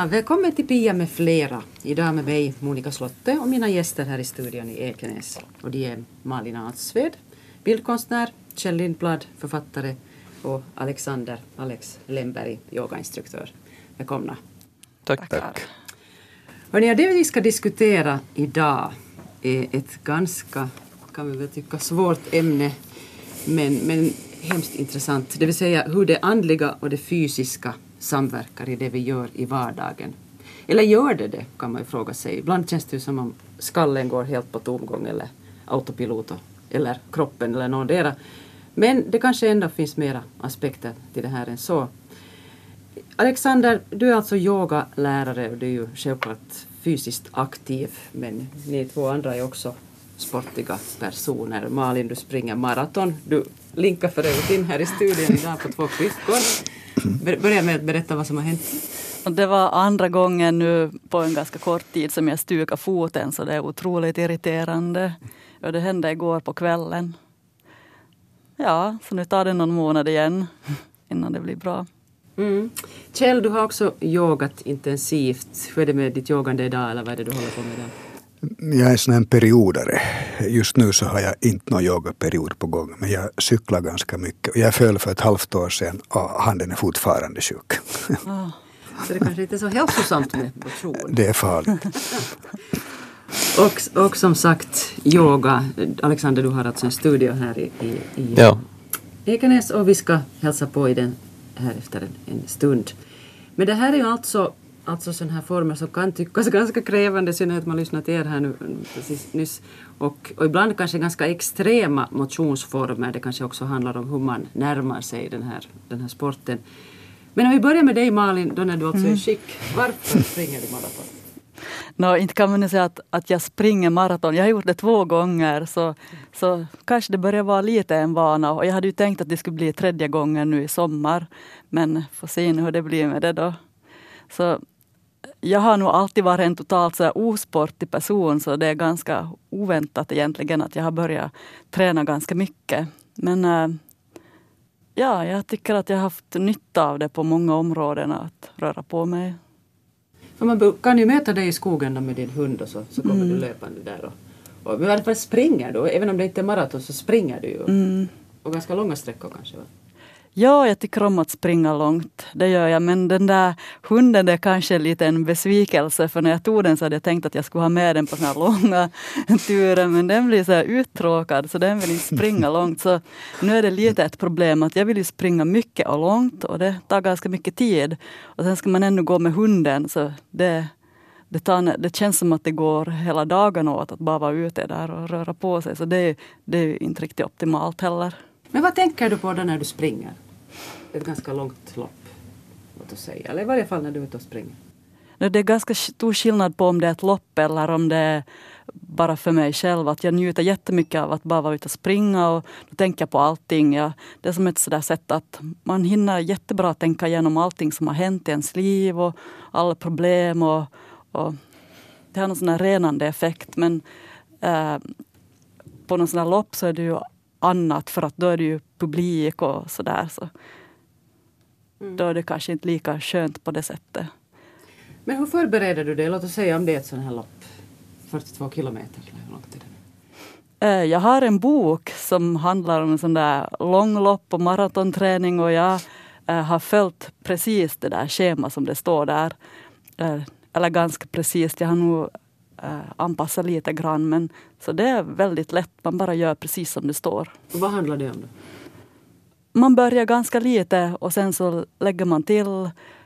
Ja, välkommen till Pia med flera. Idag med mig Monica Slotte och mina gäster här i studion i Ekenäs. Och det är Malin Adsved, bildkonstnär, Kjell Lindblad, författare och Alex Lemberg, yogainstruktör. Välkomna. Tack. Hörrni, det vi ska diskutera idag är ett ganska, kan vi väl tycka, svårt ämne, men hemskt intressant. Det vill säga hur det andliga och det fysiska samverkar i det vi gör i vardagen. Eller gör det, kan man ju fråga sig. Ibland känns det ju som om skallen går helt på tomgång eller autopilot eller kroppen eller någondera. Men det kanske ändå finns mera aspekter till det här än så. Alexander, du är alltså yogalärare och du är ju självklart fysiskt aktiv, men ni två andra är också sportiga personer. Malin, du springer maraton. Du linkar för övrigt in här i studion idag på 2 kryckor. Börja med att berätta vad som har hänt. Det var andra gången nu på en ganska kort tid som jag stukade foten, så det är otroligt irriterande. Och det hände igår på kvällen. Ja, så nu tar det någon månad igen innan det blir bra. Kjell, du har också yogat intensivt. Hur är det med ditt yogande idag, eller vad är det du håller på med där? Jag är sån en periodare. Just nu så har jag inte någon yogaperiod på gång, men jag cyklar ganska mycket. Jag föll för 1,5 år sedan och handen är fortfarande sjuk. Så det kanske inte är så hälsosamt med motion. Det är farligt. Och som sagt, yoga. Alexander, du har alltså en studio här i Ekenäs och vi ska hälsa på i den här efter en stund. Men det här är ju alltså sådana här former som kan tyckas ganska krävande, sen att man lyssnar till er här nu precis nyss. Och ibland kanske ganska extrema motionsformer. Det kanske också handlar om hur man närmar sig den här sporten. Men om vi börjar med dig, Malin, då när du alltså är skick. Varför springer du maraton? Inte kan man säga att jag springer maraton. Jag har gjort det 2 gånger, så kanske det börjar vara lite en vana. Och jag hade ju tänkt att det skulle bli 3:e gången nu i sommar. Men får se nu hur det blir med det då. Så jag har nog alltid varit en totalt så här osportig person, så det är ganska oväntat egentligen att jag har börjat träna ganska mycket. Men jag tycker att jag har haft nytta av det på många områden att röra på mig. För man kan ju möta dig i skogen med din hund och så kommer du löpande där. Och i alla fall springer du, även om det inte är maraton så springer du ju. Och ganska långa sträckor kanske, va? Ja, jag tycker om att springa långt. Det gör jag. Men den där hunden är kanske lite en besvikelse. För när jag tog den så hade jag tänkt att jag skulle ha med den på såna här långa turer. Men den blir så här uttråkad så den vill inte springa långt. Så nu är det lite ett problem att jag vill ju springa mycket och långt. Och det tar ganska mycket tid. Och sen ska man ännu gå med hunden. Så det känns som att det går hela dagen åt att bara vara ute där och röra på sig. Så det är inte riktigt optimalt heller. Men vad tänker du på då när du springer? Ett ganska långt lopp, låt oss säga. Eller i varje fall när du är ute och springer. Det är ganska stor skillnad på om det är ett lopp eller om det är bara för mig själv. Att jag njuter jättemycket av att bara vara ute och springa och då tänker jag på allting. Det är som ett sådär sätt att man hinner jättebra att tänka igenom allting som har hänt i ens liv och alla problem. Och det har någon sån här renande effekt. Men på någon sån här lopp så är det ju annat, för att då är det ju publik och sådär. Så. Då är det kanske inte lika skönt på det sättet. Men hur förbereder du det? Låt oss säga om det är ett sån här lopp. 42 kilometer eller hur långt är det? Jag har en bok som handlar om en sån där långlopp och maratonträning. Och jag har följt precis det där schema som det står där. Eller ganska precis. Jag har nog anpassa lite grann, men så det är väldigt lätt, man bara gör precis som det står. Och vad handlar det om då? Man börjar ganska lite och sen så lägger man till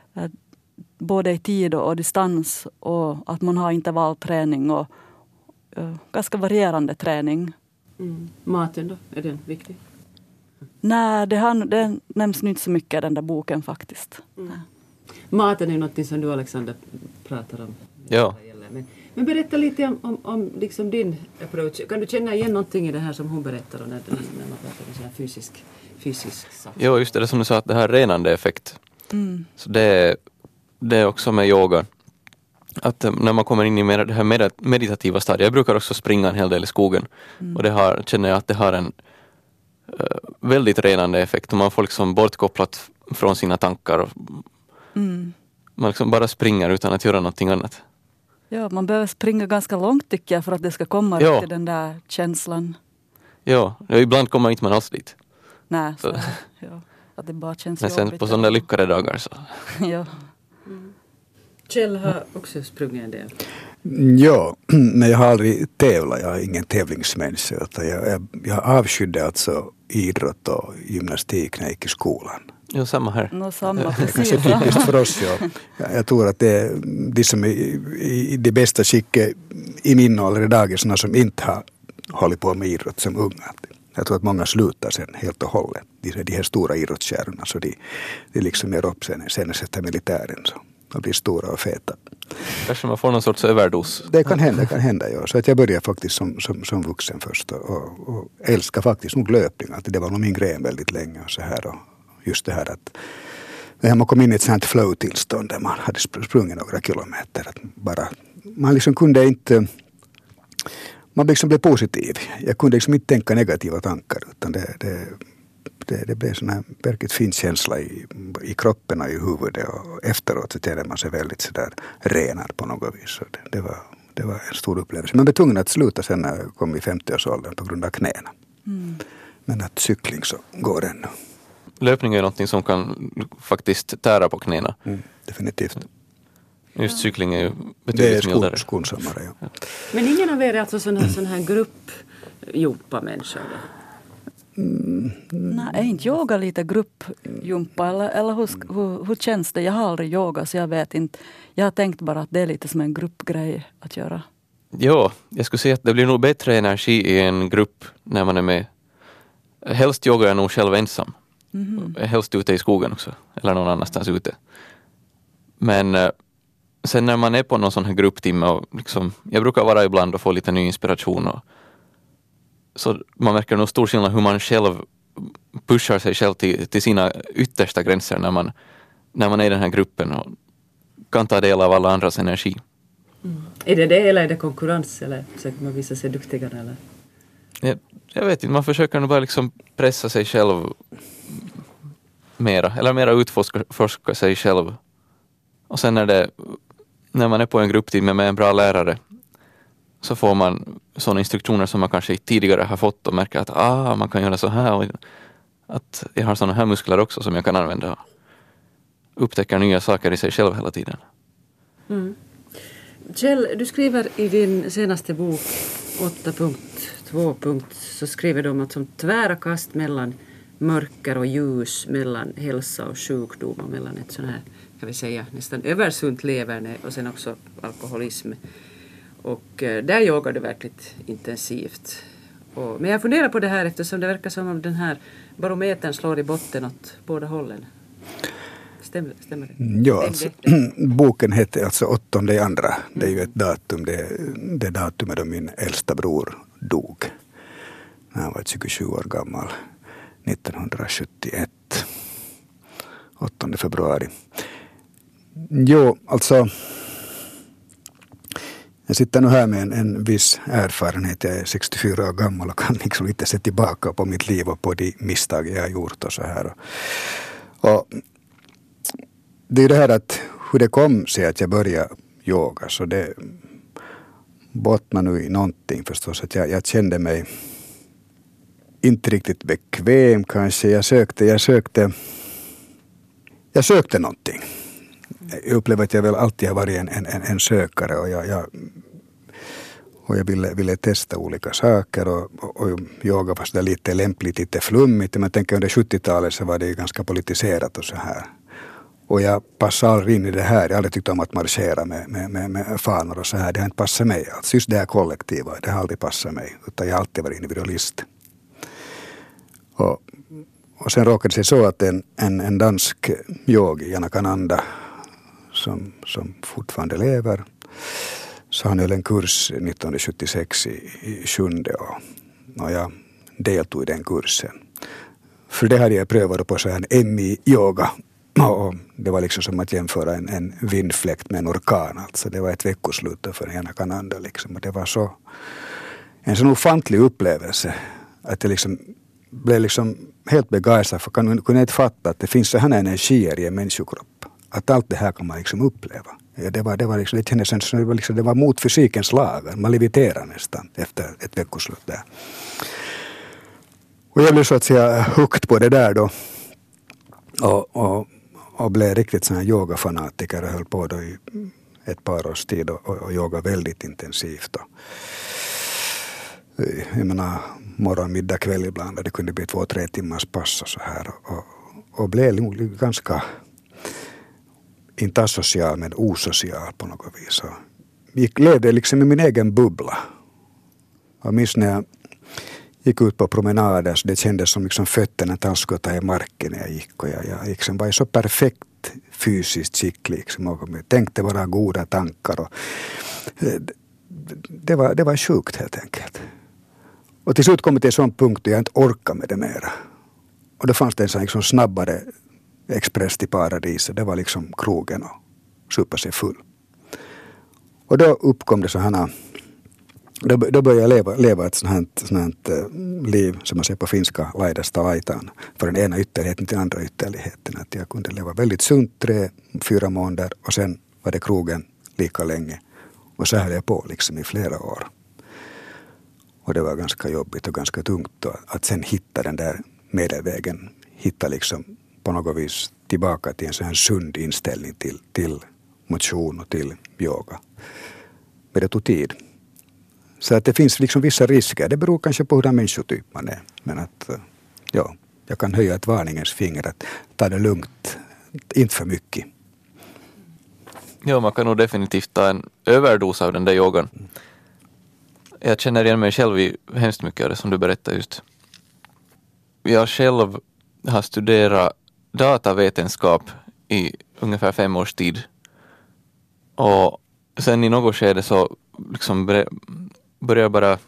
både i tid och distans och att man har intervallträning och ganska varierande träning. Maten då, är den viktig? Nej, det nämns inte så mycket i den där boken faktiskt. Maten är ju något som du, Alexander, pratar om. Ja. Men berätta lite om liksom din approach. Kan du känna igen någonting i det här som hon berättar när man pratar om så här fysisk sak? Jo, just det som du sa, att det här renande effekt. Så det är också med yoga. Att när man kommer in i det här meditativa stadiet. Jag brukar också springa en hel del i skogen. Och känner jag att det har en väldigt renande effekt. Och man får liksom bortkopplat från sina tankar. man liksom bara springer utan att göra någonting annat. Ja, man behöver springa ganska långt tycker jag för att det ska komma till den där känslan. Ja, ibland kommer inte man alls dit. Nej, så ja, att det bara känns men sen jobbigt. på sådana lyckade dagar så. Ja. Kjell har också sprungit en del. Ja, men jag har aldrig tävlat. Jag är ingen tävlingsmänniska. Jag avskydde alltså idrott och gymnastik när jag gick i skolan. Ja, samma här. Samma, Det är precis. kanske typiskt för oss. Ja. Jag tror att det är de som är i det bästa skicket i min ålder idag är sådana som inte har hållit på med idrott som unga. Jag tror att många slutar sen helt och hållet. De här stora idrottskärnorna så de liksom är upp sen efter militären så. Och blir stora och feta. Kanske man får någon sorts överdos. Det kan hända ja. Så att jag började faktiskt som vuxen först och älskar faktiskt nog löpning. Att det var nog min grej väldigt länge och så här. Och just det här att man kom in i ett sånt flow-tillstånd där man hade sprungit några kilometer. Att bara, man liksom kunde inte, man liksom blev positiv. Jag kunde liksom inte tänka negativa tankar utan det blev sån här verkligt fin känsla i kroppen och i huvudet och efteråt så kände man sig väldigt sådär renad på något vis. Så det var en stor upplevelse. Man blev tvungen att sluta sen när jag kom i 50-årsåldern på grund av knäna. Men att cykling så går ännu. Löpning är någonting som kan faktiskt tära på knäna. Definitivt. Just cykling är ju betydligt mildare. Det är skonsammare, ja. Men ingen av er är alltså sån här gruppjumpa-människa då? Nej, är inte yoga lite gruppjumpa eller hur känns det? Jag har aldrig yoga så jag vet inte. Jag har tänkt bara att det är lite som en gruppgrej att göra. Ja, jag skulle säga att det blir nog bättre energi i en grupp när man är med. Helst yogar jag nog själv ensam. Helst ute i skogen också. Eller någon annanstans ute. Men sen när man är på någon sån här grupptimme och liksom, jag brukar vara ibland och få lite ny inspiration och så man märker nog stor skillnad hur man själv pushar sig själv till sina yttersta gränser när man är i den här gruppen och kan ta del av alla andras energi. Är det eller är det konkurrens eller försöker man visa sig duktigare eller? Jag vet inte, man försöker nog bara liksom pressa sig själv mera eller mera utforska sig själv. Och sen när man är på en grupptimme med en bra lärare så får man sådana instruktioner som man kanske tidigare har fått och märker att man kan göra så här och att jag har sådana här muskler också som jag kan använda. Upptäcker nya saker i sig själv hela tiden. Kjell, du skriver i din senaste bok 8.2 så skriver du om att som tvära kast mellan mörker och ljus, mellan hälsa och sjukdom och mellan ett sån här, kan vi säga, nästan översunt leverne och sen också alkoholism. Och där yogar du verkligt intensivt. Men jag funderar på det här eftersom det verkar som om den här barometern slår i botten åt båda hållen. Stämmer det? Ja, alltså, boken heter alltså 8/2. Det är ju ett datum. Det datumet då min äldsta bror dog. När han var 27 år gammal. 1971. 8 februari. Jo, alltså jag sitter nu här med en viss erfarenhet. Jag är 64 år gammal och kan liksom lite se tillbaka på mitt liv och på de misstag jag har gjort och så här. Och det är det här att hur det kom sig att jag började yoga så det bottnar nu i någonting förstås. Att jag kände mig inte riktigt bekväm kanske. Jag sökte någonting. Jag upplever att jag väl alltid har varit en sökare och jag ville testa olika saker och yoga var så lite lämpligt, lite flummigt. Men tänker under 70-talet så var det ju ganska politiserat och så här. Och jag passade aldrig in i det här. Jag har aldrig tyckt om att marschera med fanor och så här. Det har inte passat mig. Alltså just det här kollektiva, det har aldrig passat mig. Utan jag har alltid varit individualist. Och sen råkade det sig så att en dansk yogi, Janakananda, som fortfarande lever, så han höll en kurs 1976 i 7:e och jag deltog i den kursen. För det hade jag prövat på så här en MI-yoga. Och det var liksom som att jämföra en vindfläkt med en orkan. Alltså det var ett veckoslut för Janakananda liksom. Och det var så en sån ofantlig upplevelse att jag liksom blev liksom helt begeistrad för kunde inte fatta att det finns så här energier i en människokropp. Att allt det här kan man liksom uppleva. Ja, det kändes som det var mot fysikens lagar. Man leviterar nästan efter ett veckoslut där. Och jag blev så att säga hooked på det där då. Och blev riktigt sån här yogafanatiker och höll på då i ett par års tid och yoga väldigt intensivt. Jag menar morgon, middag, kväll ibland. Det kunde bli 2-3 timmars pass och så här. Och blev ganska inte asocial men osocial på något vis. Jag levde liksom i min egen bubbla. Och minns när jag gick ut på promenader så det kändes som liksom fötterna talskotade i marken när jag gick. Och jag liksom var i så perfekt fysiskt skick liksom. Och jag tänkte bara goda tankar. Och det var sjukt helt enkelt. Och till slut kom jag till en sån punkt där jag inte orkade med det mera. Och då fanns det en sån liksom snabbare express till paradiset. Det var liksom krogen och supa sig full. Och då uppkom det så här. Då började jag leva ett sånt liv som man ser på finska laidasta laitaan. För den ena ytterligheten till andra ytterligheten. Att jag kunde leva väldigt sunt 3-4 månader och sen var det krogen lika länge. Och så höll jag på liksom i flera år. Och det var ganska jobbigt och ganska tungt att sen hitta den där medelvägen. Hitta liksom på något vis tillbaka till en sån här sund inställning till motion och till yoga. Men det tog tid. Så att det finns liksom vissa risker. Det beror kanske på hur den människotyp man är. Men att jag kan höja ett varningens finger att ta det lugnt. Inte för mycket. Ja, man kan nog definitivt ta en överdos av den där yogan. Jag känner igen mig själv i hemskt mycket av det som du berättar just. Jag själv har studerat datavetenskap i ungefär 5 års tid. Och sen i något skede så liksom började jag bara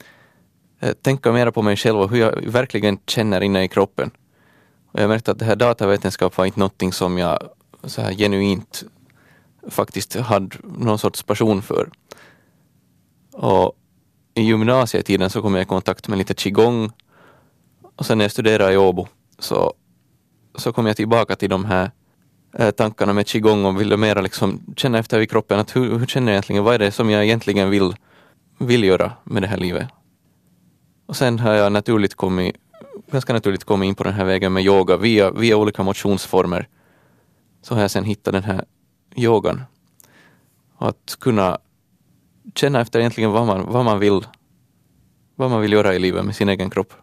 tänka mer på mig själv och hur jag verkligen känner inne i kroppen. Och jag märkte att det här datavetenskap var inte någonting som jag så här genuint faktiskt hade någon sorts passion för. Och i gymnasietiden så kom jag i kontakt med lite qigong. Och sen när jag studerade i Åbo så kom jag tillbaka till de här tankarna med qigong och ville mera liksom känna efter i kroppen att hur känner jag egentligen, vad är det som jag egentligen vill göra med det här livet. Och sen har jag ganska naturligt kommit in på den här vägen med yoga via olika motionsformer. Så har jag sen hittat den här yogan. Och att kunna känna efter egentligen vad man vill göra i livet med sin egen kropp.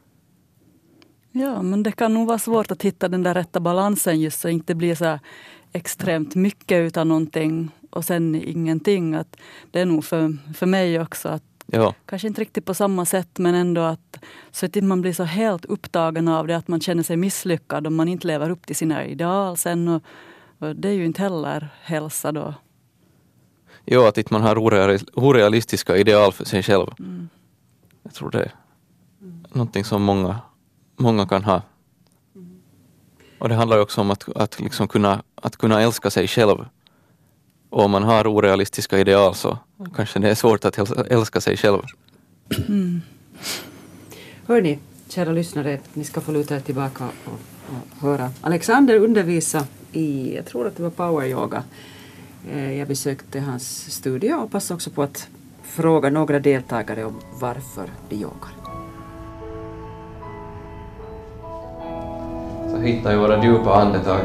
Ja, men det kan nog vara svårt att hitta den där rätta balansen just så att det inte blir så här extremt mycket utan någonting och sen ingenting. Att det är nog för mig också att kanske inte riktigt på samma sätt men ändå att så att man blir så helt upptagen av det att man känner sig misslyckad om man inte lever upp till sina ideal sen och det är ju inte heller hälsa då. Ja, att inte man har orealistiska ideal för sig själv. Mm. Jag tror det är någonting som många kan ha. Och det handlar ju också om att liksom kunna älska sig själv. Och om man har orealistiska ideal så kanske det är svårt att älska sig själv. Mm. Hörni, kära lyssnare, ni ska få luta er tillbaka och höra Alexander undervisa i, jag tror att det var power yoga. Jag besökte hans studio och passade också på att fråga några deltagare om varför de yogar. Så hittar vi våra djupa andetag.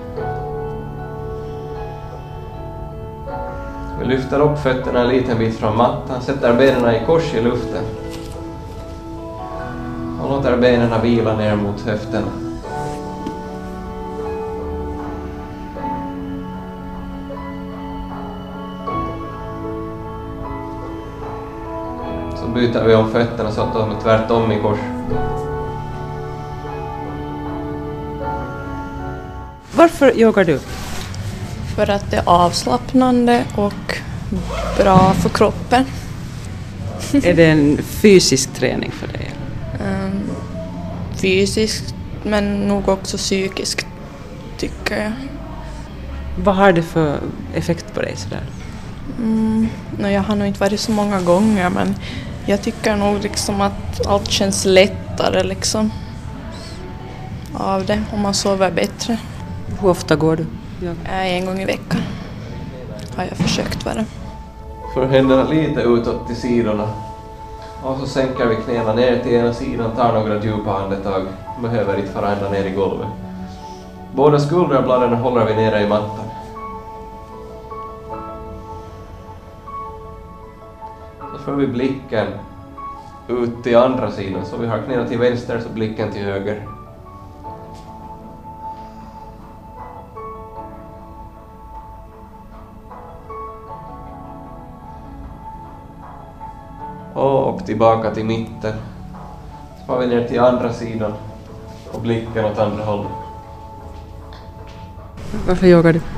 Vi lyfter upp fötterna en liten bit från mattan, sätter benen i kors i luften. Och låter benen vila ner mot höfterna. Så byter vi om fötterna så att de är tvärtom i kors. Varför yogar du? För att det är avslappnande och bra för kroppen. Är det en fysisk träning för dig? Fysiskt, men nog också psykiskt, tycker jag. Vad har det för effekt på dig sådär? Jag har nog inte varit så många gånger, men jag tycker nog liksom att allt känns lättare liksom av det, om man sover bättre. Hur ofta går du? Ja. En gång i veckan har jag försökt vara. För händerna lite utåt till sidorna. Och så sänker vi knäna ner till ena sidan, tar några djupa andetag. Behöver inte fara ända ner i golvet. Båda skulderbladen håller vi nere i mattan. Så får vi blicken ut till andra sidan. Så vi har knäna till vänster så blicken till höger. Och tillbaka till mitten. Så får vi ner till andra sidan och blicken åt andra hållet. Varför yogar du?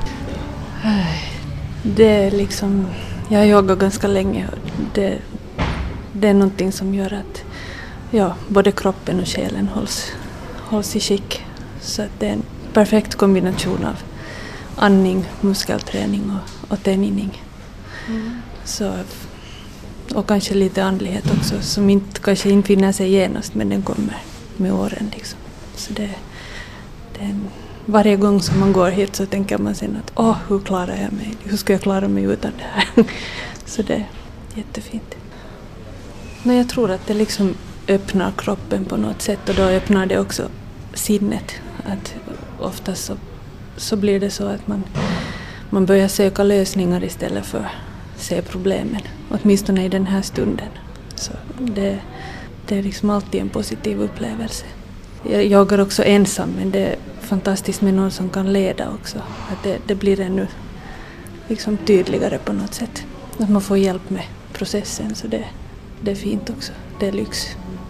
Det är liksom, jag har joggat ganska länge och det är någonting som gör att både kroppen och själen hålls i skick. Så att det är en perfekt kombination av andning, muskelträning och träning. Så, och kanske lite andlighet också som inte kanske infinner sig genast men den kommer med åren liksom. Så det är varje gång som man går hit så tänker man sen att hur klarar jag mig? Hur ska jag klara mig utan det här? Så det är jättefint. Men jag tror att det liksom öppnar kroppen på något sätt och då öppnar det också sinnet. Att oftast så blir det så att man börjar söka lösningar istället för att se problemen. Åtminstone i den här stunden. Så det är liksom alltid en positiv upplevelse. Jag joggar också ensam men det är fantastiskt med någon som kan leda också. Att det blir ännu liksom tydligare på något sätt. Att man får hjälp med processen så det är fint också. Det är lyx.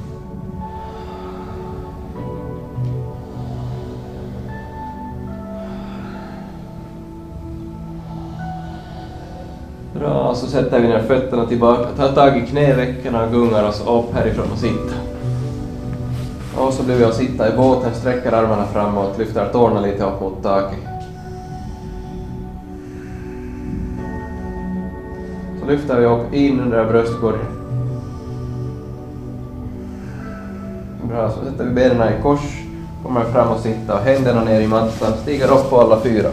Bra, så sätter vi ner fötterna tillbaka, tar tag i knävecken och gungar oss upp härifrån och sitta. Och så blir vi att sitta i båten, sträcker armarna framåt, lyfter tårna lite upp mot taket. Så lyfter vi upp in under bröstkorgen. Bra, så sätter vi benen i kors, kommer fram och sitta och händerna ner i mattan, stiger upp på alla fyra.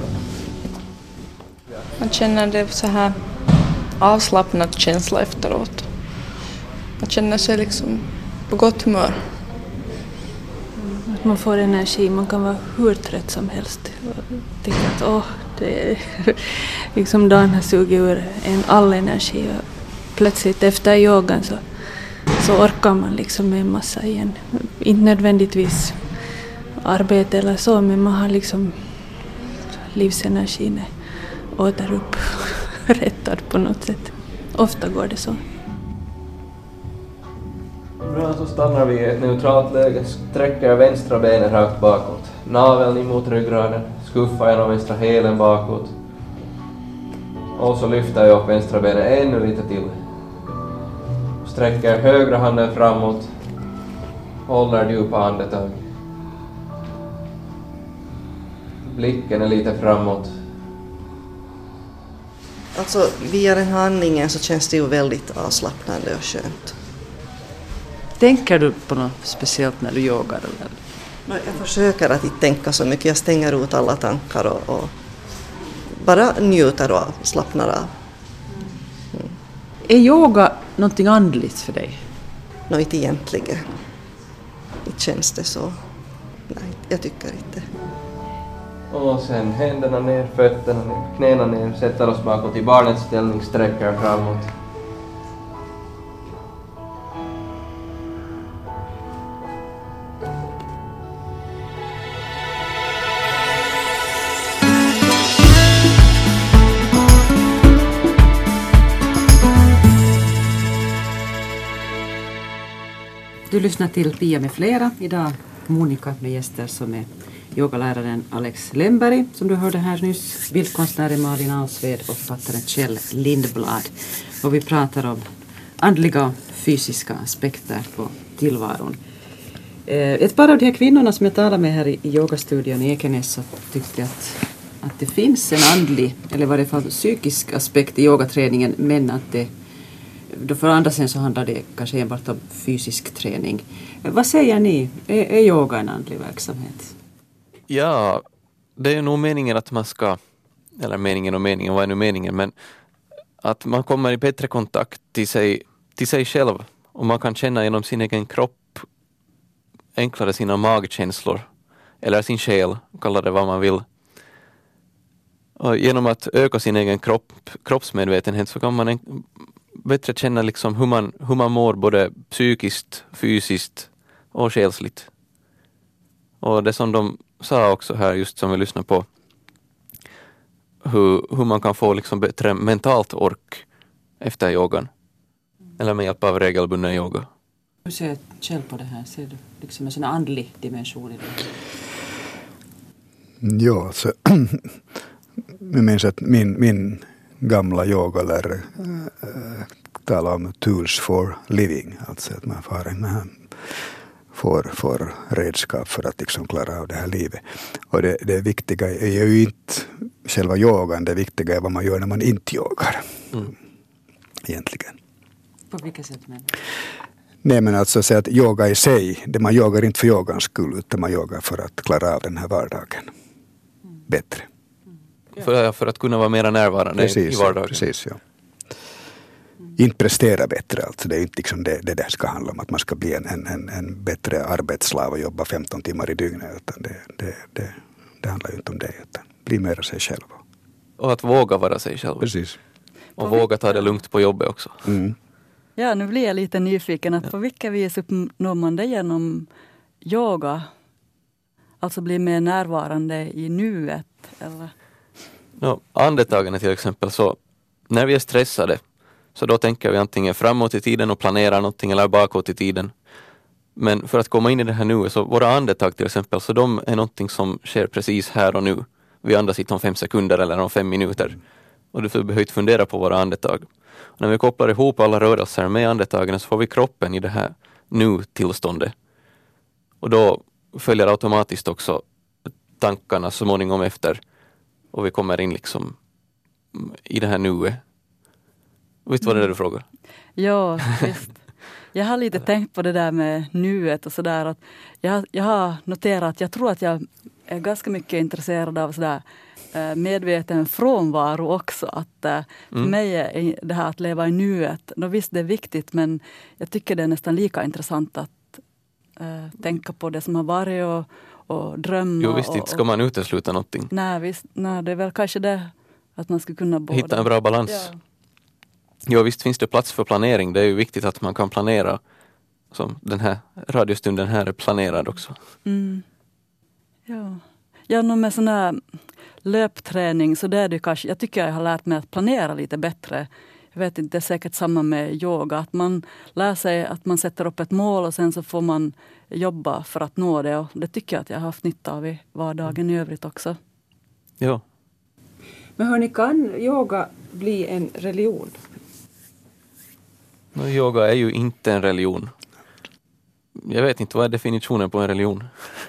Man känner det så här avslappnad känsla efteråt. Man känner sig liksom på gott humör. Att man får energi, man kan vara hur trött som helst. Och tänka att det är liksom dagen har sugit ur all energi. Och plötsligt efter yogan så orkar man liksom med en massa igen. Inte nödvändigtvis arbete eller så, men man har liksom livsenergin återupprättad på något sätt. Ofta går det så. Bra, så stannar vi i ett neutralt läge, sträcker vänstra benen rakt bakåt. Naveln emot ryggraden, skuffar genom vänstra hälen bakåt. Och så lyfter jag upp vänstra benen ännu lite till. Sträcker högra handen framåt. Håller djupa andetag. Blicken är lite framåt. Alltså via den här andningen så känns det ju väldigt avslappnande och skönt. Tänker du på något speciellt när du yogar? Eller? Jag försöker att inte tänka så mycket. Jag stänger ut alla tankar och bara njuter och slappnar av. Är yoga någonting andligt för dig? Inte egentligen. Inte känns det så. Nej, jag tycker inte. Och sen händerna ner, fötterna ner, knäna ner, sätter oss bakåt i barnets ställning, sträcker framåt. Du lyssnar till Pia med flera. Idag Monica med gäster som är yogaläraren Alex Lemberg, som du hörde här nyss, bildkonstnären Malin Alsved och författaren Kjell Lindblad. Och vi pratar om andliga och fysiska aspekter på tillvaron. Ett par av de här kvinnorna som jag talade med här i yogastudion i Ekenäs så tyckte att det finns en andlig, eller vad det för psykisk aspekt i yogaträningen, men att det då för andra sen så handlar det kanske enbart om fysisk träning. Vad säger ni? Är yoga en andlig verksamhet? Ja, det är nog meningen att man ska eller meningen och meningen, vad är nu meningen, men att man kommer i bättre kontakt till sig själv och man kan känna genom sin egen kropp enklare sina magkänslor eller sin själ, kalla det vad man vill. Och genom att öka sin egen kroppsmedvetenhet så kan man bättre känna liksom hur man mår både psykiskt, fysiskt och själsligt. Och det som de sa också här, just som vi lyssnar på, hur man kan få liksom bättre mentalt ork efter yogan. Eller med hjälp av regelbunden yoga. Hur ser du själv på det här? Ser du liksom en sån andlig dimension i det? Ja, alltså, jag minns att min gamla yogalärare talar om tools for living. Alltså att man får redskap för att liksom klara av det här livet. Och det viktiga är ju inte själva yogan, det viktiga är vad man gör när man inte yogar. Egentligen. På vilka sätt menar du? Nej, men alltså säga att yoga i sig, det man yogar inte för yogans skull utan man yogar för att klara av den här vardagen bättre. För att kunna vara mer närvarande i vardagen. Precis, ja. Inte prestera bättre, alltså det är inte liksom det ska handla om att man ska bli en bättre arbetsslav och jobba 15 timmar i dygnet, utan det handlar ju inte om det, utan bli mer sig själv. Och att våga vara sig själv. Precis. Och våga ta det lugnt på jobbet också. Mm. Ja, nu blir jag lite nyfiken. Att på vilka vis uppnår man det genom yoga? Alltså bli mer närvarande i nuet? Eller? Andetagen till exempel, så när vi är stressade så då tänker vi antingen framåt i tiden och planerar någonting eller bakåt i tiden. Men för att komma in i det här nu, så våra andetag till exempel, så de är någonting som sker precis här och nu. Vi andas inte om 5 sekunder eller om 5 minuter. Och du behöver inte fundera på våra andetag. Och när vi kopplar ihop alla rörelser med andetagen så får vi kroppen i det här nu-tillståndet. Och då följer automatiskt också tankarna så småningom efter. Och vi kommer in liksom i det här nuet. Visst var det du frågade? Ja, visst. Jag har lite tänkt på det där med nuet och sådär. Att jag har noterat att jag tror att jag är ganska mycket intresserad av sådär medveten frånvaro också. Att för mig är det här att leva i nuet, då visst det är viktigt, men jag tycker det är nästan lika intressant att tänka på det som har varit och drömma. Jo visst, inte ska man utesluta någonting. Nej, visst, det är väl kanske det att man ska kunna båda. Hitta en bra balans. Ja. Jo visst finns det plats för planering. Det är ju viktigt att man kan planera. Som den här radiostunden här är planerad också. Mm. Ja, med sån här löpträning så det är det kanske. Jag tycker jag har lärt mig att planera lite bättre. Jag vet inte, det är säkert samma med yoga. Att man lär sig att man sätter upp ett mål och sen så får man jobba för att nå det. Och det tycker jag att jag har haft nytta av i vardagen i övrigt också. Ja. Men hörni, kan yoga bli en religion? Yoga är ju inte en religion. Jag vet inte, vad är definitionen på en religion?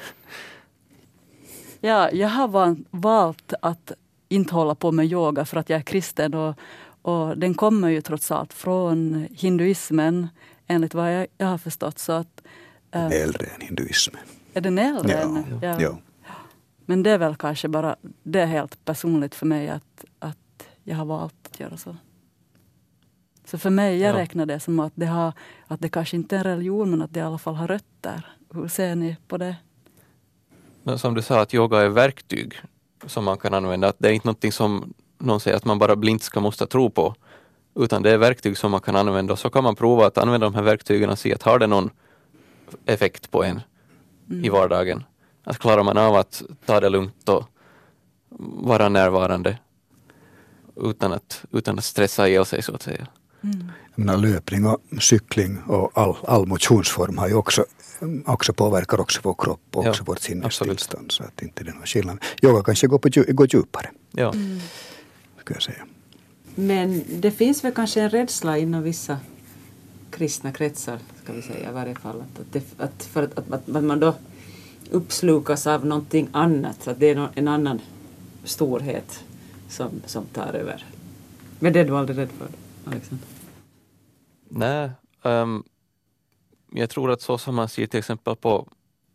Ja, jag har valt att inte hålla på med yoga för att jag är kristen och den kommer ju trots allt från hinduismen enligt vad jag har förstått. Så att, äldre än hinduismen. Är den äldre än? Ja. Men det är väl kanske bara, det är helt personligt för mig att jag har valt att göra så. Så för mig, jag räknar det som att det kanske inte är en religion men att det i alla fall har rötter. Hur ser ni på det? Men som du sa, att yoga är verktyg som man kan använda. Att det är inte någonting som någon säger att man bara blint ska måste tro på. Utan det är verktyg som man kan använda. Och så kan man prova att använda de här verktygen och se att har det någon effekt på en i vardagen. Att klarar man av att ta det lugnt och vara närvarande utan att stressa ihjäl sig så att säga. Jag menar, löpning och cykling och all motionsform har ju också påverkar också vår kropp och också vårt sinnestillstånd, så att inte det är någon skillnad. Yoga kanske går djupare. Ja. Ska jag säga. Men det finns väl kanske en rädsla inom vissa kristna kretsar, ska vi säga i varje fall, att man då uppslukas av någonting annat, så att det är en annan storhet som tar över. Men det är du aldrig rädd för, Alexander? Nej, jag tror att så som man ser till exempel på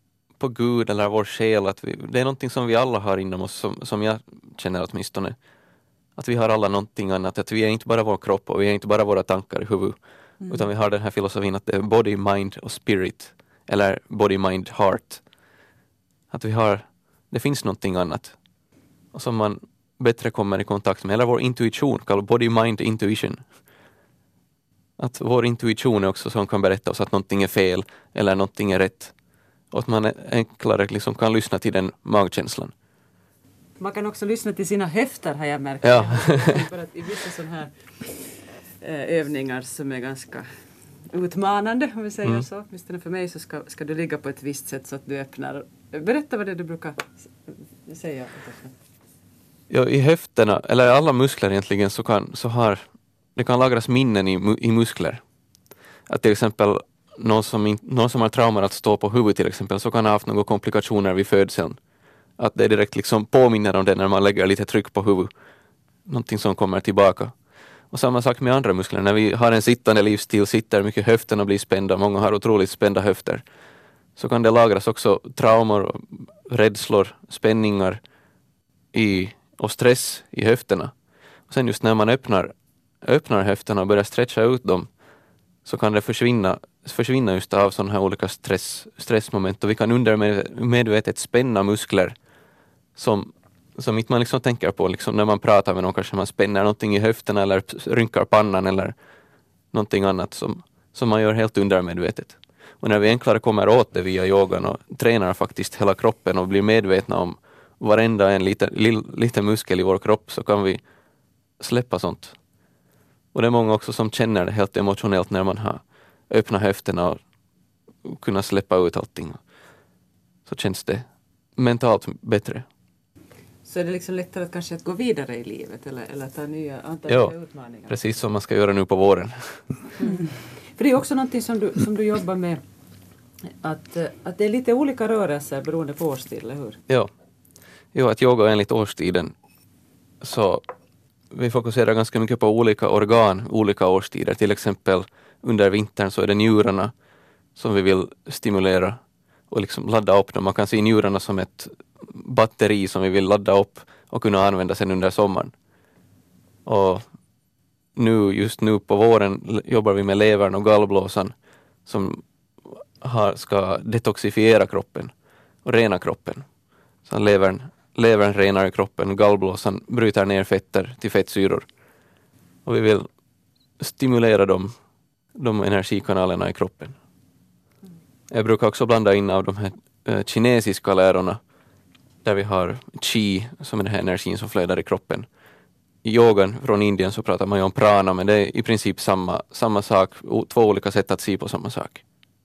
Gud eller vår själ, att det är någonting som vi alla har inom oss, som jag känner åtminstone. Att vi har alla någonting annat, att vi är inte bara vår kropp och vi är inte bara våra tankar i huvudet. Utan vi har den här filosofin att det är body, mind och spirit. Eller body, mind, heart. Att det finns någonting annat. Och som man bättre kommer i kontakt med. Eller vår intuition, kallad body, mind, intuition. Att vår intuition är också som kan berätta oss att någonting är fel eller någonting är rätt. Och att man enklare liksom kan lyssna till den magkänslan. Man kan också lyssna till sina höfter, har jag märkt. Ja. För att i vissa sådana här övningar som är ganska utmanande, om vi säger så. Åtminstone för mig så ska du ligga på ett visst sätt så att du öppnar. Berätta vad det du brukar säga. Ja, i höfterna, eller alla muskler egentligen, det kan lagras minnen i muskler. Att till exempel någon som har traumar att stå på huvudet till exempel, så kan ha haft några komplikationer vid födseln. Att det direkt liksom påminner om det när man lägger lite tryck på huvudet. Någonting som kommer tillbaka. Och samma sak med andra muskler. När vi har en sittande livsstil, sitter mycket höfterna blir spända, många har otroligt spända höfter. Så kan det lagras också traumor, rädslor, spänningar och stress i höfterna. Och sen just när man öppnar höfterna och börjar stretcha ut dem, så kan det försvinna just av sådana här olika stressmoment. Och vi kan undermedvetet spänna muskler som inte man liksom tänker på. Liksom när man pratar med någon kanske man spänner någonting i höfterna eller rynkar pannan eller någonting annat som man gör helt undermedvetet. Och när vi enklare kommer åt det via yogan och tränar faktiskt hela kroppen och blir medvetna om varenda en liten muskel i vår kropp, så kan vi släppa sånt. Och det är många också som känner det helt emotionellt när man har öppnat höfterna och kunna släppa ut allting. Så känns det mentalt bättre. Så är det liksom lättare att kanske att gå vidare i livet eller ta nya utmaningar? Precis som man ska göra nu på våren. För det är också någonting som du jobbar med, att det är lite olika rörelser beroende på årstid, eller hur? Ja, att yoga enligt årstiden, så vi fokuserar ganska mycket på olika organ, olika årstider. Till exempel under vintern så är det njurarna som vi vill stimulera och liksom ladda upp dem. Man kan se njurarna som ett batteri som vi vill ladda upp och kunna använda sen under sommaren. Och just nu på våren jobbar vi med levern och gallblåsan som ska detoxifiera kroppen och rena kroppen. Så levern renar kroppen, gallblåsan bryter ner fetter till fettsyror. Och vi vill stimulera de energikanalerna i kroppen. Jag brukar också blanda in av de här kinesiska lärorna där vi har qi som är den här energin som flödar i kroppen. I yogan från Indien så pratar man ju om prana, men det är i princip samma sak, två olika sätt att se på samma sak.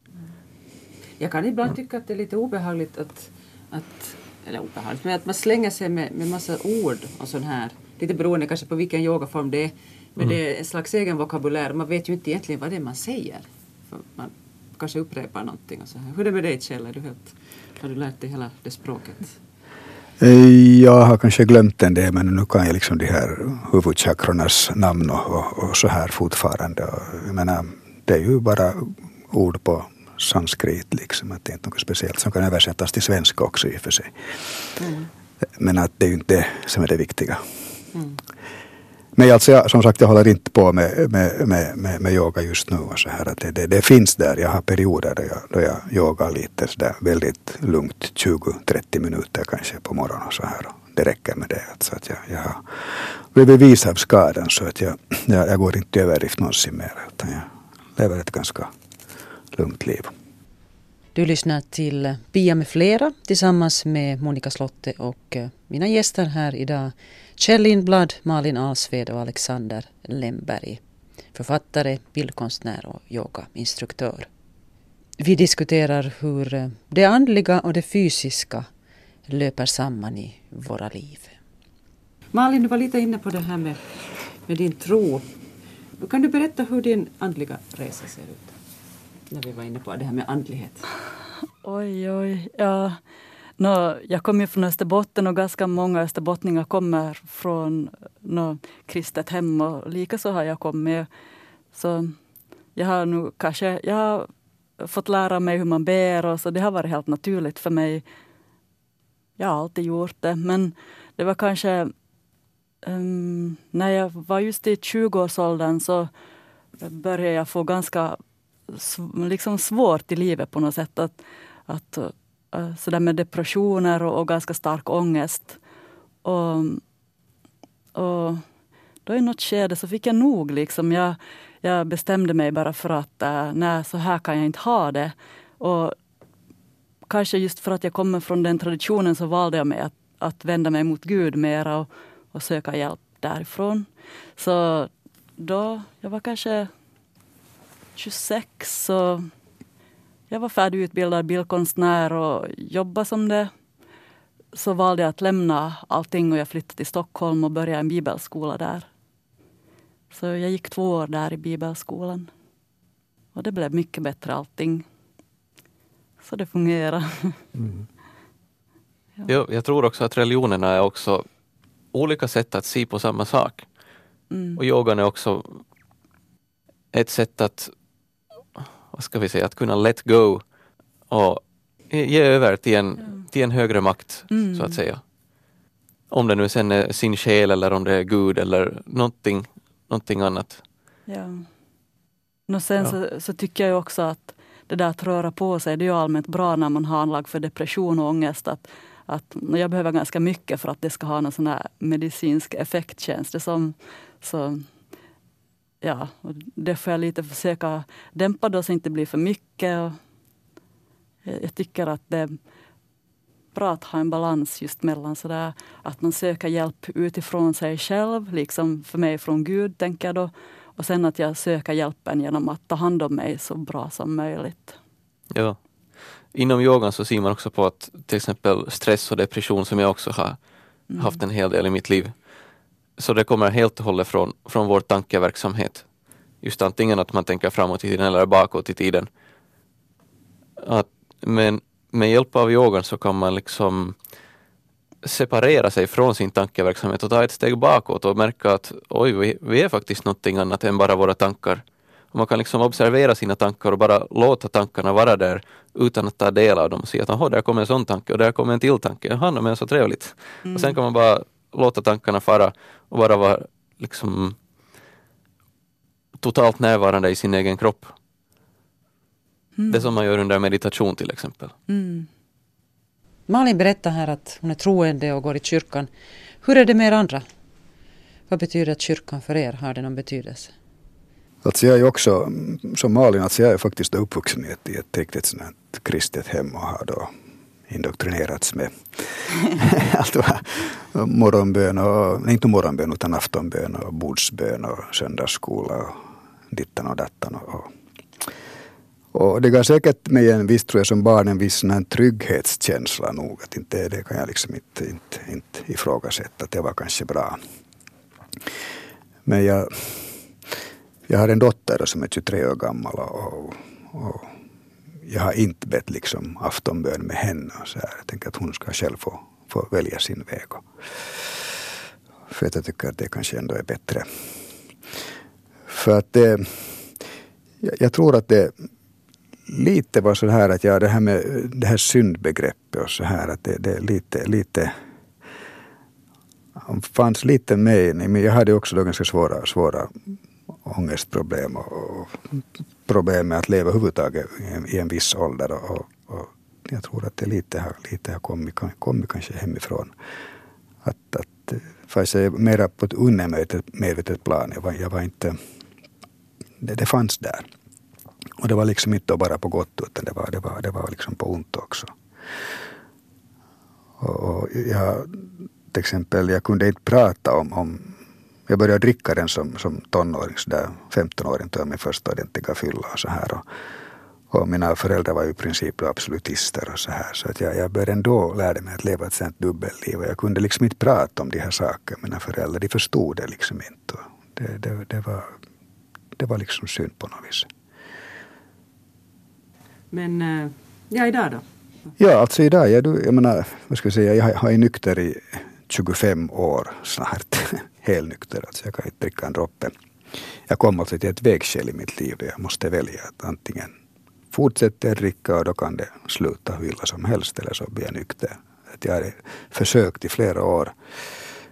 Jag kan ibland tycka att det är lite obehagligt men att man slänger sig med massa ord och sån här, lite beroende kanske på vilken yogaform det är, men det är en slags egen vokabulär. Man vet ju inte egentligen vad det är man säger. För man kanske upprepar någonting och så här. Hur är det med dig, Kjell? Har du lärt dig hela det språket? Jag har kanske glömt en del, men nu kan jag liksom de här huvudchakrornas namn och så här fortfarande. Jag menar, det är ju bara ord på sanskrit liksom, att det är inte något speciellt som kan översättas till svenska också i och för sig. Men att det är ju inte det som är det viktiga. Men alltså som sagt, jag håller inte på med yoga just nu och så här, att det finns där. Jag har perioder då jag yogar lite så där väldigt lugnt, 20-30 minuter kanske på morgonen och så här, och det räcker med det. Så att jag har blivit vis av skadan, så att jag går inte i överdrift någonsin mer, utan jag lever ett ganska lugnt liv. Du lyssnar till Pia med flera tillsammans med Monica Slotte och mina gäster här idag, Kjell Lindblad, Malin Alsved och Alexander Lemberg, författare, bildkonstnär och yogainstruktör. Vi diskuterar hur det andliga och det fysiska löper samman i våra liv. Malin, du var lite inne på det här med din tro. Kan du berätta hur din andliga resa ser ut? När vi var inne på det här med andlighet. Oj. Ja. Jag kommer från Österbotten och ganska många österbottningar kommer från kristet hem, och likaså har jag kommit. Så jag har fått lära mig hur man ber, och så det har varit helt naturligt för mig. Jag har alltid gjort det, men det var kanske När jag var just i 20-årsåldern så började jag få ganska liksom svårt i livet på något sätt. Att sådär med depressioner och ganska stark ångest. Och då i något skede så fick jag nog. Liksom. Jag bestämde mig bara för att nej, så här kan jag inte ha det. Och kanske just för att jag kommer från den traditionen så valde jag mig att vända mig mot Gud mera och söka hjälp därifrån. Så då, jag var kanske 26 så jag var färdigutbildad bildkonstnär och jobbade som det. Så valde jag att lämna allting och jag flyttade till Stockholm och började en bibelskola där. Så jag gick 2 år där i bibelskolan. Och det blev mycket bättre allting. Så det fungerar. Mm. Ja, jag tror också att religionerna är också olika sätt att se på samma sak. Och yogan är också ett sätt att, vad ska vi säga, att kunna let go och ge över till en högre makt, så att säga. Om det nu sen är sin själ eller om det är Gud eller någonting annat. Ja. Och sen så tycker jag också att det där att röra på sig, det är ju allmänt bra när man har anlag för depression och ångest. Att jag behöver ganska mycket för att det ska ha någon sån här medicinsk effekt, känns det som. Så ja, och det får jag lite försöka dämpa då så det inte blir för mycket. Och jag tycker att det är bra att ha en balans just mellan sådär att man söker hjälp utifrån sig själv, liksom för mig från Gud tänker jag då. Och sen att jag söker hjälpen genom att ta hand om mig så bra som möjligt. Ja. Inom yogan så ser man också på att till exempel stress och depression som jag också har haft en hel del i mitt liv. Så det kommer helt och hållet från vår tankeverksamhet. Just antingen att man tänker framåt i tiden eller bakåt i tiden. Men med hjälp av yogan så kan man liksom separera sig från sin tankeverksamhet och ta ett steg bakåt och märka att oj, vi är faktiskt någonting annat än bara våra tankar. Och man kan liksom observera sina tankar och bara låta tankarna vara där utan att ta del av dem och säga att där kommer en sån tanke och där kommer en till tanke. Jaha, men så trevligt. Och sen kan man bara låta tankarna fara och bara vara liksom totalt närvarande i sin egen kropp. Det som man gör under meditation till exempel. Malin berättar här att hon är troende och går i kyrkan. Hur är det med er andra? Vad betyder att kyrkan för er? Har det någon betydelse? Alltså jag är också, som Malin, alltså jag är faktiskt uppvuxen i ett riktigt sådant kristet hem och har då indoktrinerats med allt vad morgonbön och, inte morgonbön utan aftonbön och bordsbön och söndagsskola och dittan och dattan och det gav säkert mig en viss, tror jag, som barn en viss trygghetskänsla nog, att inte det kan jag liksom inte ifrågasätta, att det var kanske bra. Men jag har en dotter som är 23 år gammal och jag har inte bett liksom aftonbön med henne och så här. Jag tänker att hon ska själv få välja sin väg. För att jag tycker att det kanske ändå är bättre. För att jag tror att det lite var så här att det här med det här syndbegreppet och så här, att det är lite fanns lite med, men jag hade också då ganska svåra ångestproblem och problem med att leva överhuvudtaget i en viss ålder och jag tror att det lite har kommit kanske hemifrån. Att fast jag är mera på ett undermedvetet plan. Jag var inte, det fanns där. Och det var liksom inte bara på gott, utan det var liksom på ont också. Och till exempel, jag kunde inte prata om jag började dricka den som tonåring, så där 15-åring tog jag min första ordentliga fylla och så här. Och mina föräldrar var ju i princip absolutister och så här. Så att jag började ändå lära mig att leva ett sånt dubbelliv. Och jag kunde liksom inte prata om de här sakerna. Mina föräldrar, de förstod det liksom inte. Och det var liksom synd på något vis. Men idag då? Ja, alltså idag, jag menar, vad ska jag säga, jag har ju nykter i 25 år snart. Helt nykter, alltså jag kan inte dricka en droppe. Jag kom alltså till ett vägskäl i mitt liv där jag måste välja att antingen fortsätta att dricka och då kan det sluta hur illa som helst eller så blir jag nykter. Att jag har försökt i flera år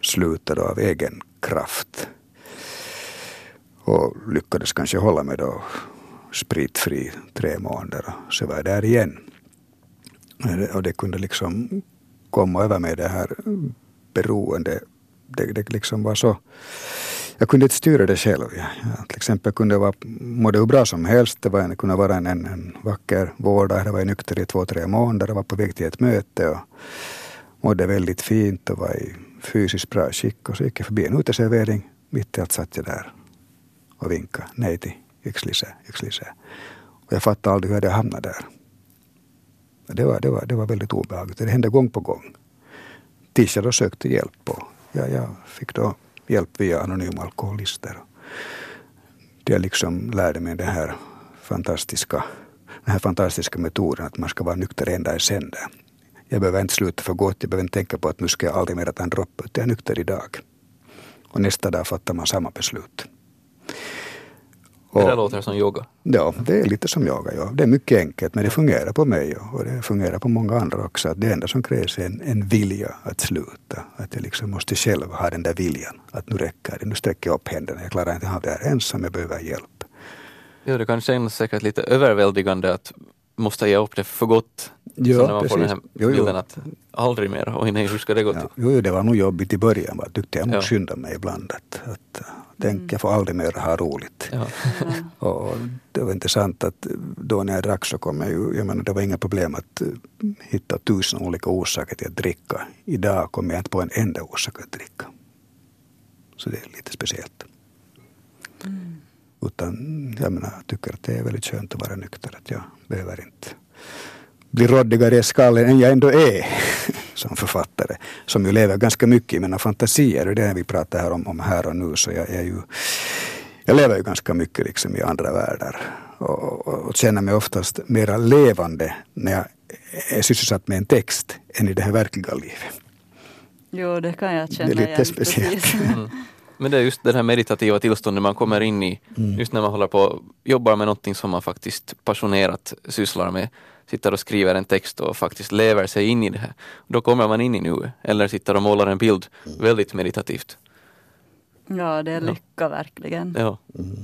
slutade av egen kraft. Och lyckades kanske hålla mig då spritfri 3 månader. Så var jag där igen. Och det kunde liksom komma över mig det här beroende. Det liksom var så. Jag kunde inte styra det själv. Jag till exempel kunde mådde hur bra som helst. Det kunde vara en vacker vårdag. Jag var nykter i 2-3 månader och var på väg till ett möte och mådde väldigt fint och var i fysiskt bra skick. Och så gick jag förbi en uteservering. Mitt i allt satt jag där och vinkade nej till yxlise. Och jag fattade aldrig hur jag hamnade där. Det var väldigt obehagligt. Det hände gång på gång. Tills jag då sökte hjälp och jag fick då hjälp via anonyma alkoholister. Det liksom lärde mig den här fantastiska metoden att man ska vara nykter en dag i sänder. Jag behöver inte sluta för gott, jag behöver inte tänka på att nu ska jag aldrig mer ta en droppe, utan jag är nykter idag. Och nästa dag fattar man samma beslut. Det där låter som yoga. Ja, det är lite som yoga. Ja. Det är mycket enkelt, men det fungerar på mig och det fungerar på många andra också. Att det enda som krävs är en vilja att sluta. Att jag liksom måste själv ha den där viljan. Att nu räcker det, nu sträcker jag upp händerna. Jag klarar inte av det här ensam, jag behöver hjälp. Ja, det kan kännas säkert lite överväldigande att måste ge upp det för gott. Ja, så när man får den här bilden att aldrig mer, oj nej, hur ska det gå till? Jo, det var nog jobbigt i början. Jag tyckte jag måste skynda mig ibland. Tänk, jag får aldrig mer ha roligt. Ja. Och det var intressant att då när jag drack så kom jag menar, det var inga problem att hitta 1000 olika orsaker till att dricka. Idag kommer jag inte på en enda orsak att dricka. Så det är lite speciellt. Utan jag menar, jag tycker att det är väldigt skönt att vara nykter. Att jag behöver inte bli råddigare i skallen än jag ändå är som författare. Som ju lever ganska mycket i mina fantasier. Och det är vi pratar här om här och nu. Så jag lever ju ganska mycket liksom i andra världar. Och känner mig oftast mera levande när jag är sysselsatt med en text än i det här verkliga livet. Jo, det kan jag känna. Det är lite speciellt. Men det är just det här meditativa tillståndet man kommer in i. Just när man håller på jobbar med någonting som man faktiskt passionerat sysslar med. Sitter och skriver en text och faktiskt lever sig in i det här. Då kommer man in i nuet. Eller sitter och målar en bild väldigt meditativt. Ja, det är lycka verkligen. Ja.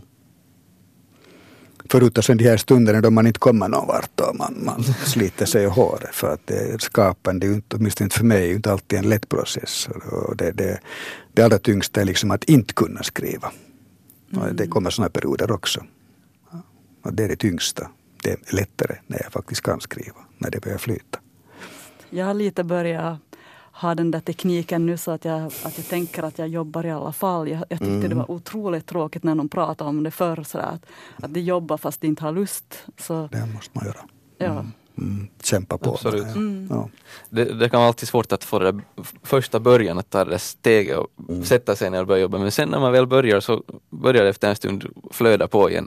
Förutom sen de här stunderna då man inte kommer någon vart och man sliter sig i håret. För att det skapande, åtminstone inte för mig, är inte alltid en lätt process. Och det allra tyngsta är liksom att inte kunna skriva. Och det kommer sådana perioder också. Och det är det tyngsta. Det är lättare när jag faktiskt kan skriva, när det börjar flyta. Jag har lite börjat ha den där tekniken nu så att jag tänker att jag jobbar i alla fall. Jag tyckte det var otroligt tråkigt när någon pratade om det förr. Så att de jobbar fast de inte har lust. Så, det måste man göra. Ja. Kämpa på. Absolut. Ja. Det kan vara alltid svårt att få det första början att ta det steget och sätta sig ner och börja jobba. Men sen när man väl börjar så börjar det efter en stund flöda på igen.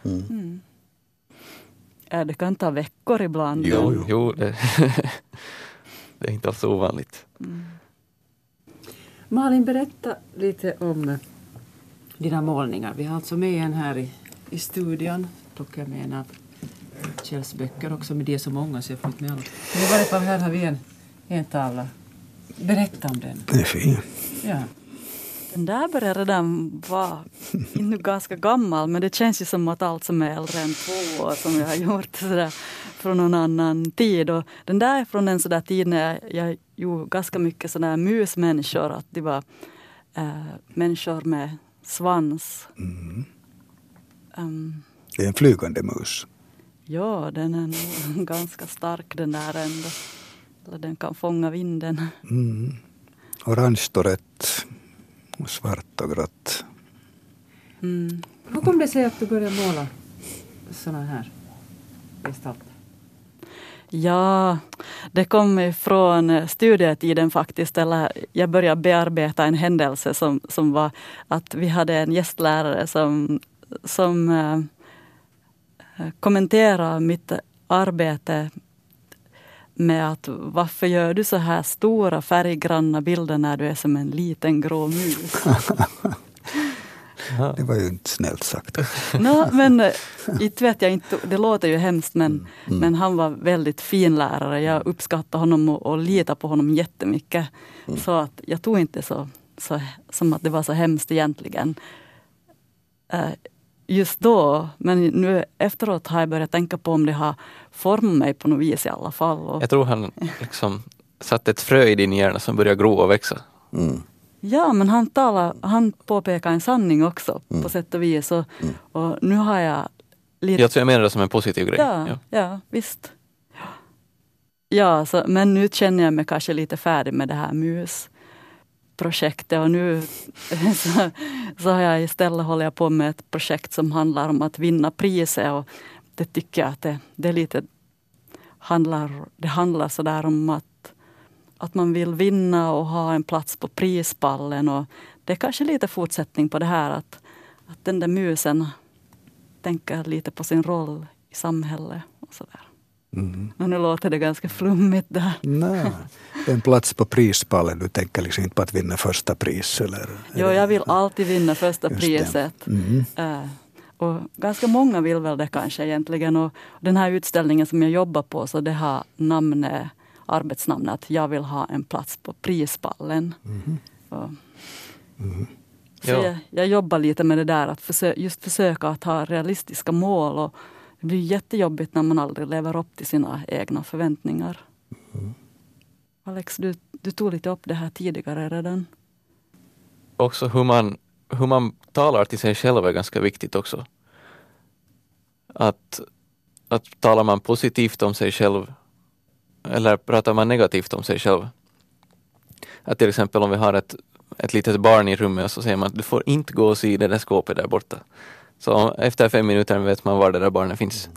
Det kan ta veckor ibland. Jo det är inte alls ovanligt. Malin, berätta lite om dina målningar. Vi har alltså med en här i studion. Plockar med en av Kjells böcker också, med det är så många så jag får inte med allt. Men i varje fall här har vi en tavla. Berätta om den. Det är fin. Ja. Den där börjar redan vara inte ganska gammal, men det känns ju som att allt som är äldre än 2 år som jag har gjort sådär, från någon annan tid. Och den där är från en sådär tid när jag gjorde ganska mycket sådär musmänniskor, att det var människor med svans. Det är en flygande mus. Ja, den är nog ganska stark den där ändå. Eller den kan fånga vinden. Orange och rött. Och svart och grått. Hur kom det sig att du började måla såna här gestalter? Ja, det kom ifrån studietiden faktiskt. Eller jag började bearbeta en händelse som var att vi hade en gästlärare som kommenterade mitt arbete med att varför gör du så här stora färggranna bilder när du är som en liten grå mus? Det var ju inte snällt sagt. Men inte vet jag inte, det låter ju hemskt men han var väldigt fin lärare. Jag uppskattade honom och litade på honom jättemycket. Så att jag tog inte så som att det var så hemskt egentligen just då. Men nu efteråt har jag börjat tänka på om det har format mig på något vis i alla fall. Och Jag tror han liksom satte ett frö i din hjärna som börjar gro och växa. ja, men han påpekar en sanning också på sätt och vis. Och nu har jag lite... Jag menar det som en positiv grej. Ja, visst. Ja, men nu känner jag mig kanske lite färdig med det här musprojektet. Och nu så har jag istället håller jag på med ett projekt som handlar om att vinna priser. Och det tycker jag att det är lite... Det handlar så där om att man vill vinna och ha en plats på prispallen. Och det är kanske lite fortsättning på det här att den där musen tänker lite på sin roll i samhället och sådär. Och nu låter det ganska flummigt där. Nej, en plats på prispallen, du tänker liksom inte på att vinna första pris eller? Jo, jag vill alltid vinna första priset. Och ganska många vill väl det kanske egentligen. Och den här utställningen som jag jobbar på, så det har arbetsnamnet att jag vill ha en plats på prispallen. Så jag jobbar lite med det där att försöka att ha realistiska mål, och det blir jättejobbigt när man aldrig lever upp till sina egna förväntningar. Alex, du tog lite upp det här tidigare redan. Också hur man talar till sig själv är ganska viktigt också. Att talar man positivt om sig själv eller pratar man negativt om sig själv. Att till exempel om vi har ett litet barn i rummet och så säger man att du får inte gå och se det där skåpet där borta. Så efter 5 minuter vet man var det där barnet finns.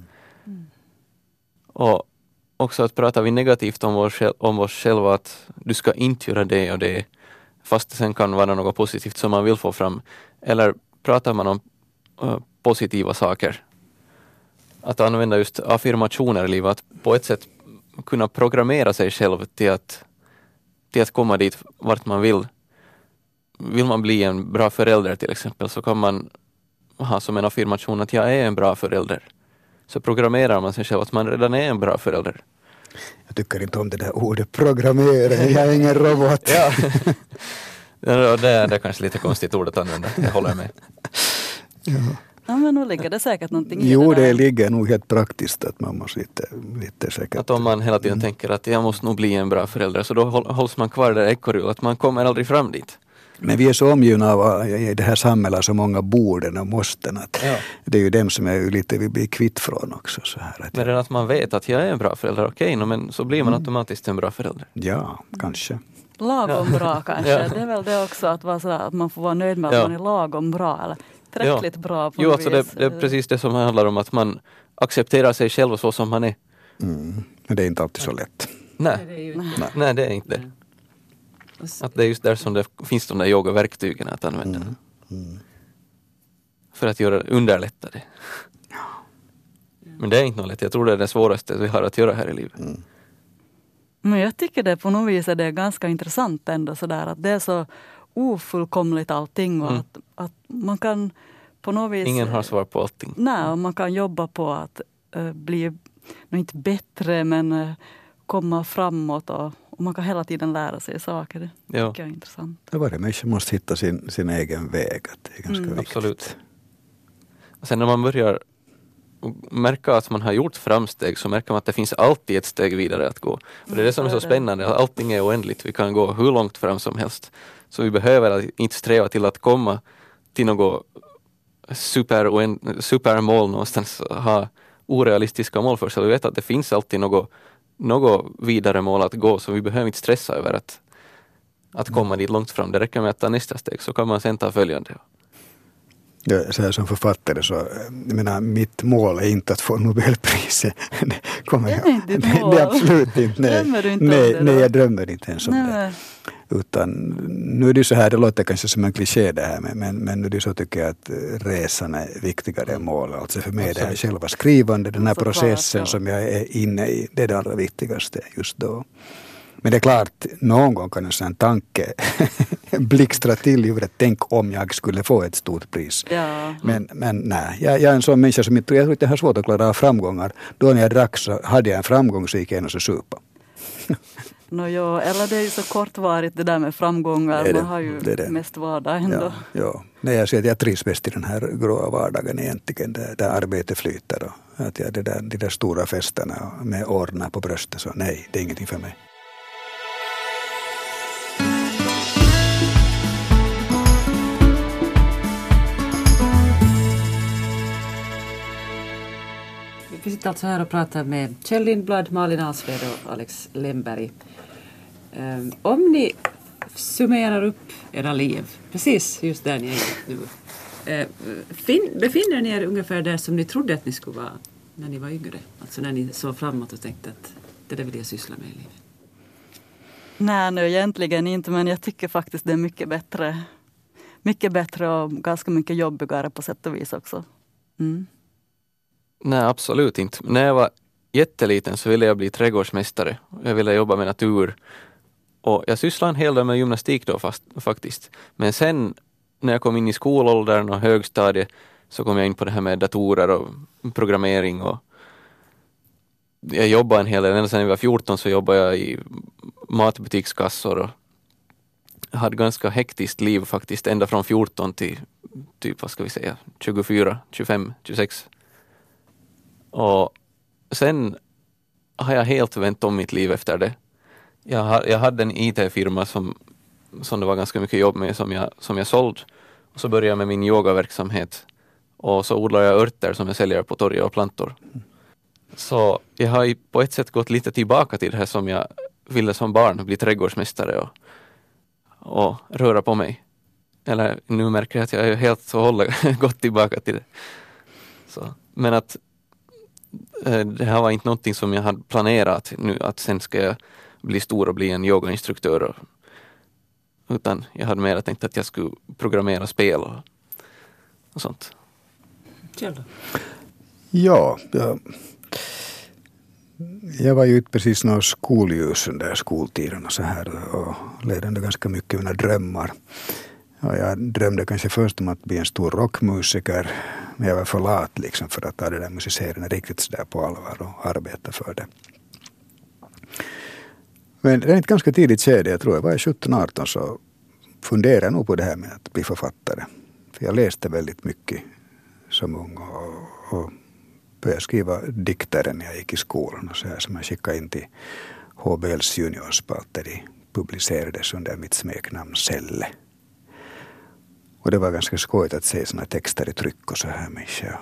Och också att pratar vi negativt om oss själva, att du ska inte göra det och det, fast det sen kan vara något positivt som man vill få fram. Eller pratar man om positiva saker. Att använda just affirmationer i livet, att på ett sätt kunna programmera sig själv till att komma dit vart man vill. Vill man bli en bra förälder till exempel, så kan man ha som en affirmation att jag är en bra förälder. Så programmerar man sig själv att man redan är en bra förälder. Jag tycker inte om det där ordet programmera, jag är ingen robot. Det är kanske lite konstigt ord att använda, jag håller med. Ja, men nu ligger det säkert någonting i det. Jo, det ligger nog helt praktiskt att man måste lite säkert... Att om man hela tiden tänker att jag måste nog bli en bra förälder, så då hålls man kvar där ekorrhjulet, att man kommer aldrig fram dit. Men vi är så omgivna av i det här samhället så många borden och måsten att det är ju dem som är lite vi blir kvitt från också. Så här, men redan att man vet att jag är en bra förälder, men så blir man automatiskt en bra förälder. Ja, kanske. Lagom bra kanske. Det är väl det också att vara så att man får vara nöjd med att man är lagom bra eller tillräckligt bra på något vis. Alltså det är precis det som handlar om att man accepterar sig själv så som man är. Men det är inte alltid så lätt. Nej, det är inte det. Att det är just där som det finns de där yogaverktygen att använda. För att underlätta det. Men det är inte något lätt. Jag tror det är det svåraste vi har att göra här i livet. Men jag tycker det på något vis är det ganska intressant ändå sådär att det är så ofullkomligt allting och att man kan på något vis... Ingen har svar på allting. Nej, och man kan jobba på att bli, inte bättre men komma framåt och man kan hela tiden lära sig saker. Det tycker jag är intressant. Varje människa måste hitta sin egen väg. Det är ganska viktigt. Absolut. Och sen när man börjar märka att man har gjort framsteg, så märker man att det finns alltid ett steg vidare att gå. Och det är det som är så spännande. Allting är oändligt. Vi kan gå hur långt fram som helst. Så vi behöver inte sträva till att komma till något supermål någonstans. Ha orealistiska mål för sig. Vi vet att det finns alltid något vidare mål att gå, så vi behöver inte stressa över att komma dit långt fram. Det räcker med att ta nästa steg, så kan man sen ta följande. Ja, så här som författare så, jag menar, mitt mål är inte att få Nobelpriset. Det är absolut inte. Nej, jag drömmer inte ens om det. Utan nu är det så här, det låter kanske som en kliché det här, men nu är det så tycker jag att resan är viktigare än mål. Alltså för mig är det här själva skrivande, den här processen som jag är inne i, det är det allra viktigaste just då. Men det är klart, någon gång kan en sån tanke blixtra till i huvudet. Tänk om jag skulle få ett stort pris. Ja. Men nej, jag är en sån människa som jag tror att jag har svårt att klara av framgångar. Då när jag drack så hade jag en framgång så gick jag in och så supa. Eller det är ju så kortvarigt det där med framgångar. Man har ju mest vardag ändå. Ja. Nej, jag ser att jag trivs bäst i den här gråa vardagen egentligen. Där arbetet flyter. Och att de där stora festerna med ordnar på bröstet. Så nej, det är ingenting för mig. Vi sitter alltså här och pratar med Kjell Lindblad, Malin Alsved och Alex Lemberg. Om ni summerar upp era liv, precis just där ni är nu, befinner ni er ungefär där som ni trodde att ni skulle vara när ni var yngre? Alltså när ni såg framåt och tänkte att det där vill jag syssla med i livet. Nej, egentligen inte, men jag tycker faktiskt det är mycket bättre. Mycket bättre och ganska mycket jobbigare på sätt och vis också. Mm. Nej, absolut inte. När jag var jätteliten så ville jag bli trädgårdsmästare. Jag ville jobba med natur. Och jag sysslade en hel del med gymnastik då faktiskt. Men sen när jag kom in i skolåldern och högstadiet så kom jag in på det här med datorer och programmering. Och jag jobbade en hel del. Ända sedan jag var 14 så jobbade jag i matbutikskassor. Och jag hade ganska hektiskt liv faktiskt. Ända från 14 till typ, 24, 25, 26. Och sen har jag helt vänt om mitt liv efter det. Jag hade en IT-firma som det var ganska mycket jobb med som jag sålde. Och så började jag med min yogaverksamhet. Och så odlar jag örter som jag säljer på torget och plantor. Så jag har på ett sätt gått lite tillbaka till det här som jag ville som barn. Bli trädgårdsmästare och röra på mig. Eller nu märker jag att jag är helt så hållet gått tillbaka till det. Så, men att det här var inte någonting som jag hade planerat nu, att sen ska jag bli stor och bli en yogainstruktör. Utan jag hade mer tänkt att jag skulle programmera spel och sånt. Kjell. Ja, jag var ju inte precis någon skolljus under skoltiden och så här och ledde ganska mycket mina drömmar. Och jag drömde kanske först om att bli en stor rockmusiker, men jag var för lat liksom för att ta det där musicerande riktigt så där på allvar och arbeta för det. Men det är ett ganska tidigt skede, jag tror jag var 17-18, så funderade jag nog på det här med att bli författare. För jag läste väldigt mycket som ung och började skriva dikter när jag gick i skolan och så här som jag skickade in till HBLs juniorspalt där de publicerades under mitt smeknamn Selle. Och det var ganska skojigt att se såna texter i tryck och så här mycket.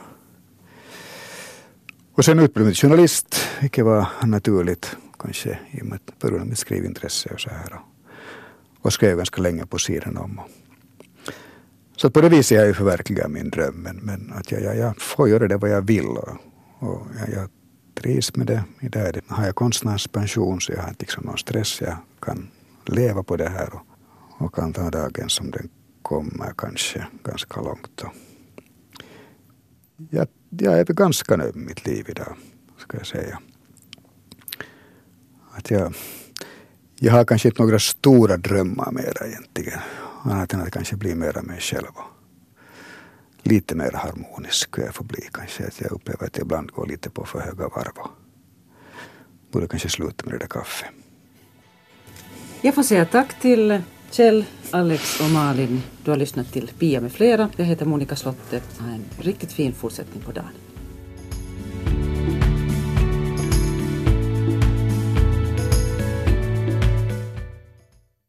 Och sen utbildade jag journalist, vilket var naturligt kanske i och med att började mitt skrivintresse och så här. Och skrev ganska länge på sidan om. Så på det viset har jag ju förverkligat min dröm. Men att jag får göra det vad jag vill. Och jag trivs med det. Idag har jag konstnärspension så jag har inte liksom någon stress. Jag kan leva på det här och kan ta dagen som den kommer kanske ganska långt. Jag är ganska nöjd med mitt liv idag, ska jag säga. Att jag har kanske inte några stora drömmar mera egentligen. Annat än att kanske bli mera mig själv. Lite mer harmonisk ska jag få bli kanske. Att jag upplever att jag ibland går lite på för höga varv. Borde kanske sluta med det där kaffe. Jag får säga tack till Kjell, Alex och Malin. Du har lyssnat till Pia med flera. Jag heter Monica Slotte. Ha en riktigt fin fortsättning på dagen.